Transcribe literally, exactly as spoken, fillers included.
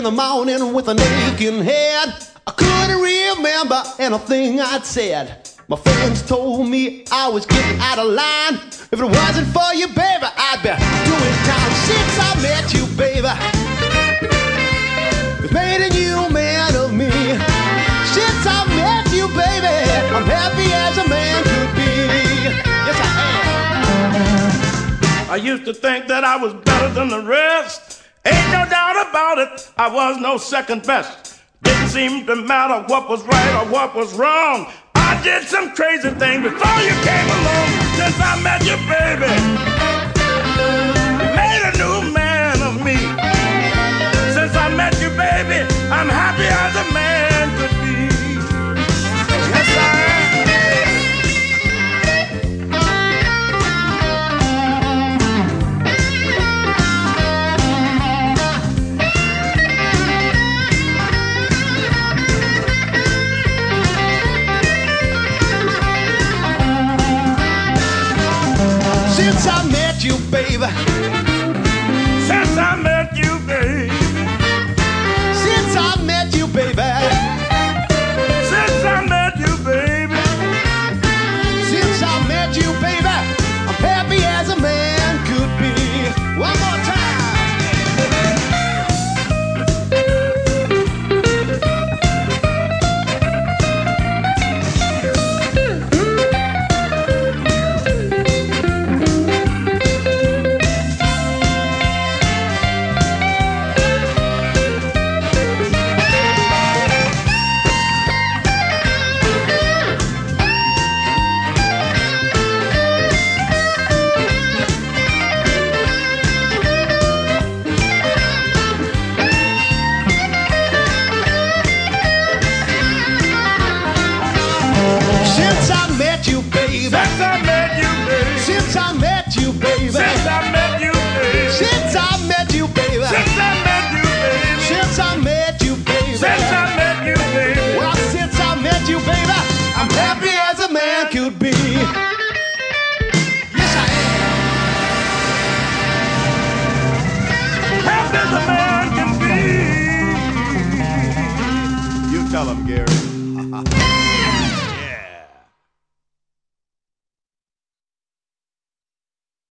in the morning with a aching head. I couldn't remember anything I'd said. My friends told me I was getting out of line. If it wasn't for you, baby, I'd be doing time. Since I met you, baby, it's made a new man of me. Since I met you, baby, I'm happy as a man could be. Yes, I am. I used to think that I was better than the rest. Ain't no doubt about it, I was no second best. Didn't seem to matter what was right or what was wrong. I did some crazy things before you came along. Since I met you, baby, you made a new man of me. Since I met you, baby, I'm happy as a man could be. Yes, I am. Since I met you, baby,